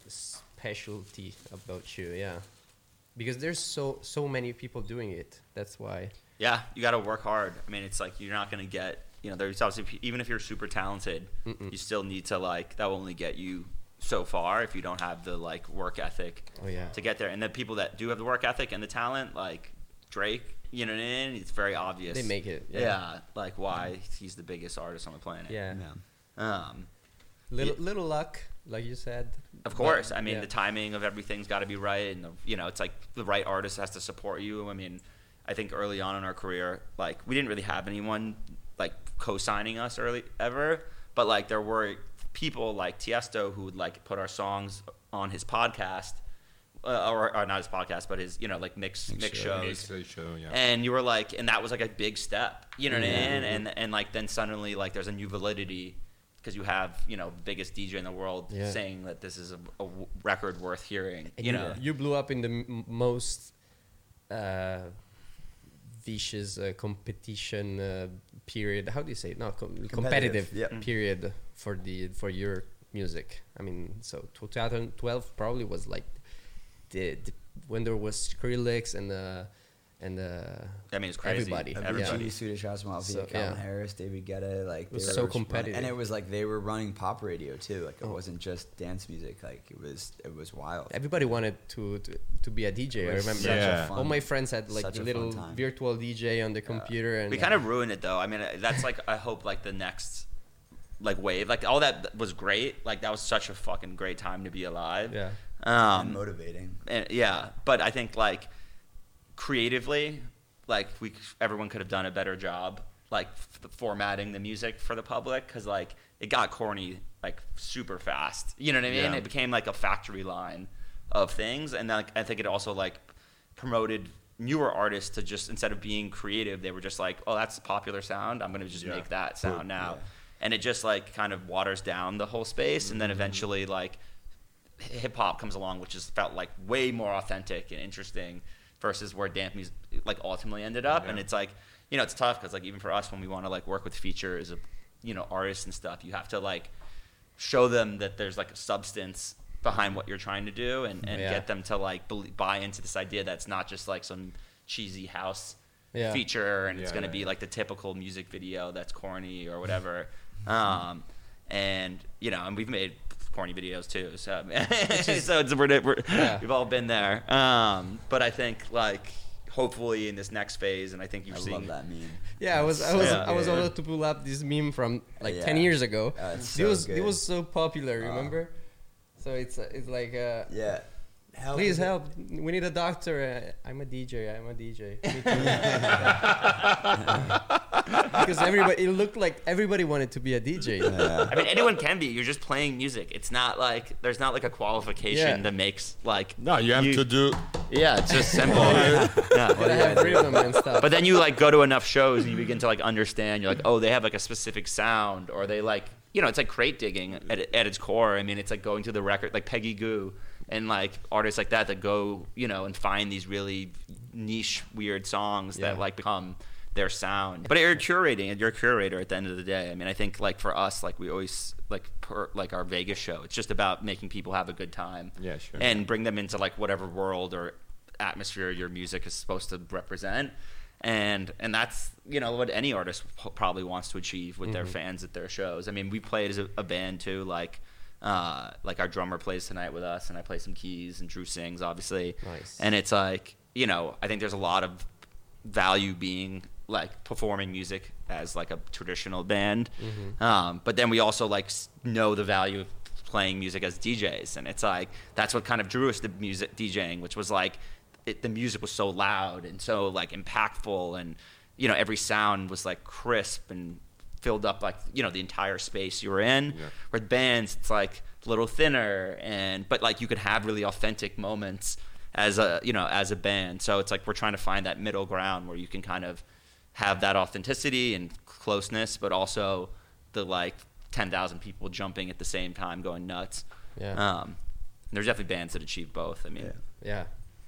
specialty about you. Yeah. Because there's so so many people doing it. That's why. Yeah, you got to work hard. I mean, it's like you're not going to get, you know, there's obviously, even if you're super talented, Mm-mm. you still need to, like, that will only get you so far if you don't have the, like, work ethic Oh yeah. to get there. And the people that do have the work ethic and the talent, like Drake, you know what I mean? It's very obvious. They make it. Yeah, Yeah. like why he's the biggest artist on the planet. Yeah. Yeah. Um, Little little luck, like you said. Of course. But, I mean, yeah. the timing of everything's got to be right. And, the, you know, it's like the right artist has to support you. I mean, I think early on in our career, like, we didn't really have anyone, like, co-signing us early ever. But, like, there were people like Tiesto who would, like, put our songs on his podcast. Uh, or, or not his podcast, but his, you know, like, mix, mix, shows. It's a show, yeah. And you were like, and that was, like, a big step. You know what I Mm-hmm. mean? And, and, like, then suddenly, like, there's a new validity because you have, you know, biggest D J in the world Yeah. saying that this is a, a w- record worth hearing. And You know, you blew up in the m- most uh, vicious uh, competition uh, period. How do you say it? No, com- competitive, yeah. period for the for your music. I mean, so twenty twelve probably was like the, the when there was Skrillex and uh, and uh, I mean, it's crazy. everybody. Everybody. Avicii, Swedish House Mafia, So, Calvin yeah. Harris, David Guetta, like It was they so were competitive. and it was like they were running pop radio too. Like it Oh. wasn't just dance music. Like it was, it was wild. everybody wanted to, to to be a D J. I It was remember. such a Yeah. fun- All my friends had like such a a little fun time. virtual D J on the computer, and We kind of ruined it though. I mean, that's like I hope like the next like wave, like all that was great. Like that was such a fucking great time to be alive. yeah. and Um, motivating. and yeah, but I think like creatively, like we everyone could have done a better job, like f- formatting the music for the public, because like it got corny like super fast. You know what I mean? Yeah. It became like a factory line of things, and like I think it also like promoted newer artists to just instead of being creative, they were just like, oh, that's a popular sound. I'm gonna just Yeah. make that sound now, yeah. and it just like kind of waters down the whole space, and then eventually like hip hop comes along, which just felt like way more authentic and interesting versus where dance music like ultimately ended up. And Yeah. it's like, you know, it's tough because like even for us when we want to like work with features of, you know, artists and stuff, you have to like show them that there's like a substance behind what you're trying to do, and, and Yeah. get them to like belie- buy into this idea that's not just like some cheesy house Yeah. feature and it's Yeah, going to yeah, be yeah. like the typical music video that's corny or whatever. um, and you know, and we've made corny videos too, so so it's, we're, we're, Yeah. we've all been there. Um, but I think like hopefully in this next phase, and I think you've I seen love that meme. Yeah, I was I was Yeah. I was Yeah. able to pull up this meme from like Yeah. ten years ago. Uh, it's it so was good. it was so popular. Uh, Remember? So it's uh, it's like uh, Yeah. Help please is it- help. We need a doctor. Uh, I'm a D J. I'm a D J. Me too. because everybody, it looked like everybody wanted to be a D J. Yeah. I mean, anyone can be. You're just playing music. It's not like there's not like a qualification Yeah. that makes like. No, you have to do. Yeah, it's just simple. yeah. Gotta have rhythm and stuff. But then you like go to enough shows and you begin to like understand. You're like, oh, they have like a specific sound, or they like, you know, it's like crate digging at, at its core. I mean, it's like going to the record, like Peggy Goo and like artists like that that go, you know, and find these really niche, weird songs Yeah. that like become their sound. But you're curating, you're a curator at the end of the day. I mean, I think like for us, like we always like per, like our Vegas show. It's just about making people have a good time. Yeah, sure. And bring them into like whatever world or atmosphere your music is supposed to represent. And and that's, you know, what any artist p- probably wants to achieve with their fans at their shows. I mean, we played as a, a band too, like uh, like our drummer plays tonight with us, and I play some keys, and Drew sings, obviously. Nice. And it's like, you know, I think there's a lot of value being like performing music as like a traditional band. Um, but then we also like s- know the value of playing music as D Js, and it's like that's what kind of drew us to music DJing, which was like it, the music was so loud and so like impactful, and you know every sound was like crisp and filled up like you know the entire space you were in. Yeah. With bands, it's like a little thinner, and but like you could have really authentic moments as a you know as a band. So it's like we're trying to find that middle ground where you can kind of have that authenticity and closeness, but also the like ten thousand people jumping at the same time, going nuts. Yeah. Um, there's definitely bands that achieve both. I mean, Yeah. Yeah.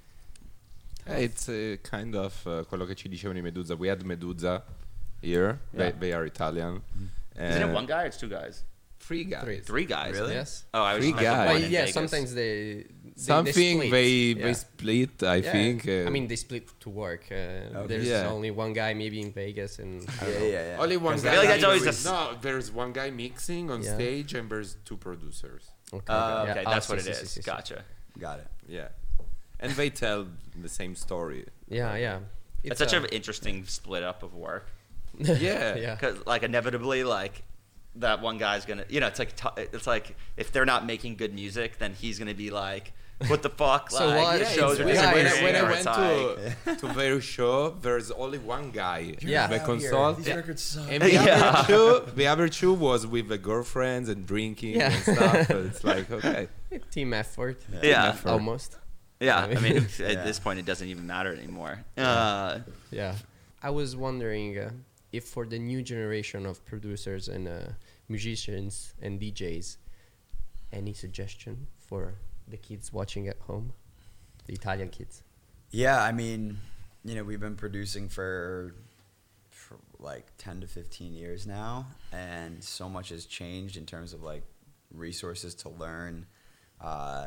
Eh, It's uh, kind of uh, quello che ci dicevano i Medusa. We had Medusa here. They, Yeah. they are Italian. isn't it Uh, one guy or it's two guys? Three guys. Three. Three guys. Really? Yes. Oh, I was Three I thought guys. one Well, in yeah, Vegas. sometimes they, they Something they, they, split. they Yeah. split, I Yeah. think. Uh, I mean, they split to work. Uh, Okay. There's Yeah. only one guy maybe in Vegas, and I don't Yeah, know. yeah, yeah. only one I guy. feel like that's mixing. always the s- No, there's one guy mixing on Yeah. stage, and there's two producers. Okay, Uh, yeah. okay, Ah, that's sì, what it sì, is. sì, sì, sì. Gotcha. Got it. Yeah, and they tell the same story. Yeah, yeah. It's, such an interesting split up of work. Yeah. yeah. Because like inevitably, like that one guy's gonna, you know, it's like t- it's like if they're not making good music, then he's gonna be like, "What the fuck?" So like, what? the Yeah, shows it's are weird. When, disappearing, I, when I or went it's like- to to their show, there's only one guy. Yeah. the console. These records suck. And the Yeah. other two, the other two was with the girlfriends and drinking Yeah. and stuff. So it's like okay. Team effort. Yeah. effort. Almost. yeah, I mean, at Yeah. this point, it doesn't even matter anymore. Uh, Yeah. I was wondering uh, if for the new generation of producers and uh, musicians and D Js, any suggestion for the kids watching at home, the Italian kids? Yeah, I mean, you know, we've been producing for, for like ten to fifteen years now, and so much has changed in terms of like resources to learn. Uh,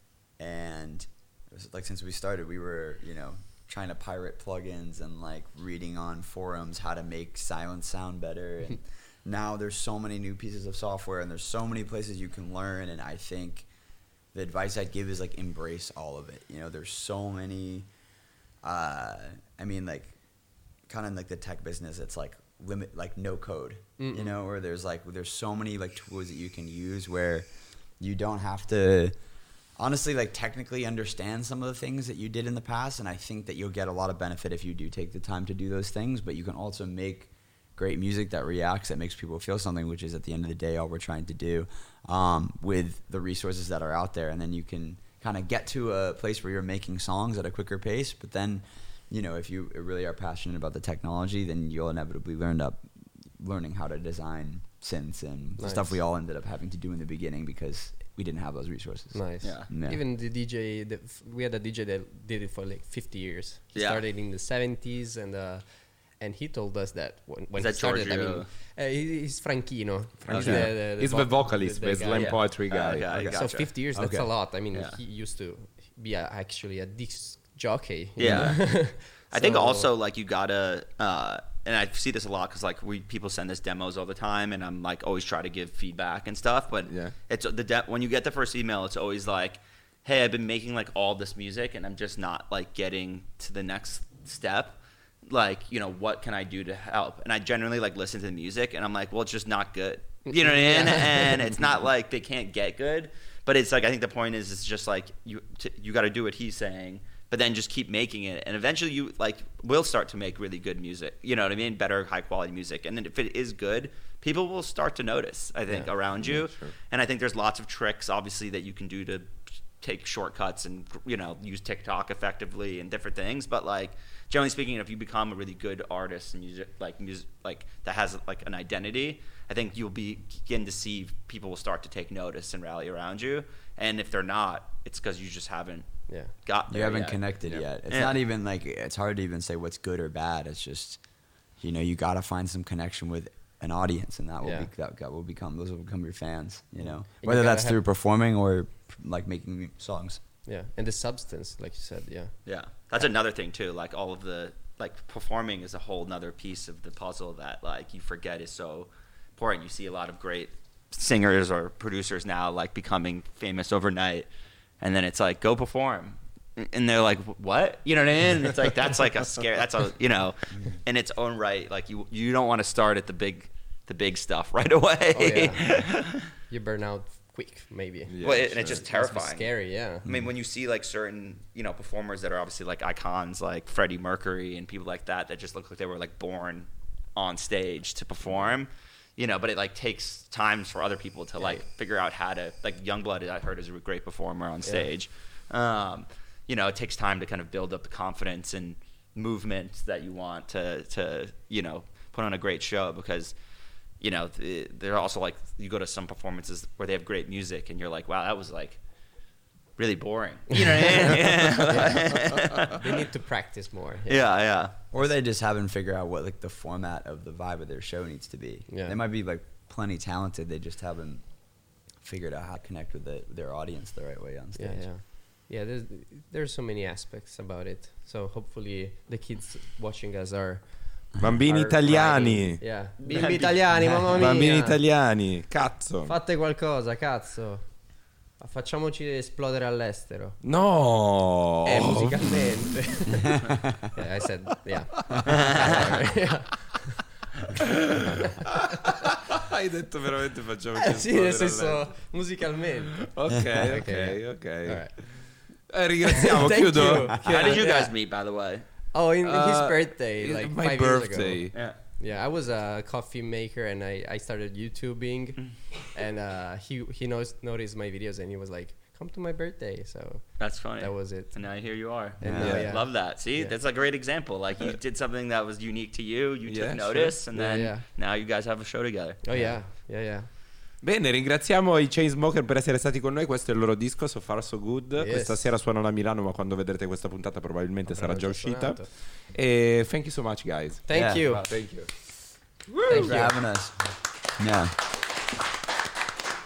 and it was like since we started, we were, you know, trying to pirate plugins and like reading on forums how to make silence sound better. And now there's so many new pieces of software, and there's so many places you can learn. And I think the advice I'd give is like embrace all of it. You know, there's so many. Uh, I mean, like, kind of like the tech business. It's like limit, like no code. Mm-mm. You know, where there's like there's so many like tools that you can use where you don't have to honestly like technically understand some of the things that you did in the past. And I think that you'll get a lot of benefit if you do take the time to do those things. But you can also make great music that reacts, that makes people feel something, which is at the end of the day all we're trying to do, um, with the resources that are out there. And then you can kind of get to a place where you're making songs at a quicker pace. But then, you know, if you really are passionate about the technology, then you'll inevitably learn up learning how to design synths and Nice. stuff we all ended up having to do in the beginning because we didn't have those resources. Nice. Yeah. Yeah. Even the D J, the, f- we had a D J that did it for like fifty years. He Yeah. started in the seventies, and uh, and he told us that when, when Is he that started, I mean, Giorgio? uh, he, he's Franchino. He's Okay. the, the, He's the voc- vocalist, the guy. slam yeah. poetry Uh, guy. okay, I Okay. So gotcha. fifty years, that's Okay. a lot. I mean, Yeah. he used to be a, actually a disc jockey. you Yeah. know? I think So- also like you gotta, uh, and I see this a lot because like we people send us demos all the time, and I'm like always try to give feedback and stuff. But Yeah. it's the de- when you get the first email, it's always like, "Hey, I've been making like all this music, and I'm just not like getting to the next step. Like, you know, what can I do to help?" And I generally like listen to the music, and I'm like, "Well, it's just not good." You know what I mean? And it's not like they can't get good, but it's like I think the point is it's just like you t- you got to do what he's saying but then just keep making it, and eventually you like will start to make really good music. You know what I mean? Better, high quality music, and then if it is good, people will start to notice. I think Yeah. around you, Yeah, sure. and I think there's lots of tricks, obviously, that you can do to take shortcuts and you know use TikTok effectively and different things. But like generally speaking, if you become a really good artist and music like music like that has like an identity, I think you'll begin to see people will start to take notice and rally around you. And if they're not, it's because you just haven't Yeah. got there You haven't yet. connected Yeah. yet. It's Yeah. not even like it's hard to even say what's good or bad. It's just, you know, you got to find some connection with an audience, and that will Yeah. be that, that will become those will become your fans. You know, you whether gotta that's have- through performing or like making songs. Yeah, and the substance, like you said, yeah. Yeah, that's another thing too. Like all of the like performing is a whole nother piece of the puzzle that like you forget is so important. You see a lot of great singers or producers now like becoming famous overnight, and then it's like go perform, and they're like what? You know what I mean? It's like that's like a scare. That's a you know, in its own right. Like you you don't want to start at the big the big stuff right away. Oh, yeah. You burn out quick, maybe. Yeah, well, it, and sure. it's just Must be terrifying. scary, yeah. I mean, when you see like certain, you know, performers that are obviously like icons, like Freddie Mercury and people like that, that just look like they were like born on stage to perform, you know. But it like takes times for other people to like figure out how to like Youngblood. I heard is a great performer on stage. Um, you know, it takes time to kind of build up the confidence and movement that you want to to you know put on a great show because. You know, th- they're also like you go to some performances where they have great music, and you're like, "Wow, that was like really boring." You know what I mean? Yeah, They need to practice more. yeah. yeah. Or they just haven't figured out what like the format of the vibe of their show needs to be. Yeah. They might be like plenty talented. They just haven't figured out how to connect with the, their audience the right way on Yeah, stage. yeah. Yeah, there's there's so many aspects about it. So hopefully the kids watching us are Bambini are italiani. riding- Yeah. Bimbi italiani, mamma mia. Bambini italiani, cazzo. Fate qualcosa, cazzo. Facciamoci esplodere all'estero. No. Eh, musicalmente. Yeah, I said, yeah. Hai detto veramente facciamo Eh, sì, nel senso, musicalmente. Ok, ok, Ok. ok. Alright. Eh, ringraziamo, Thank chiudo. you. How did you Yeah. guys meet, by the way? Oh, in his Uh, birthday, like my five birthday. years ago. Yeah. Yeah, I was a coffee maker and I, I started YouTubing, and uh, he he knows noticed my videos and he was like, "Come to my birthday." So That's funny. that was it. And now here you are. And now, Yeah. yeah. Love that. See, Yeah. that's a great example. Like you did something that was unique to you. You Yeah, took sure. notice, and Yeah, then yeah. now you guys have a show together. Oh yeah, yeah, yeah. Bene, ringraziamo i Chainsmokers per essere stati con noi. Questo è il loro disco, So Far So Good. Yes. Questa sera suonano a Milano, ma quando vedrete questa puntata probabilmente sarà già Avranno uscita. suonato. E thank you so much, guys. Thank Yeah. you. Thank you. Thank Thanks for you. having us. Yeah.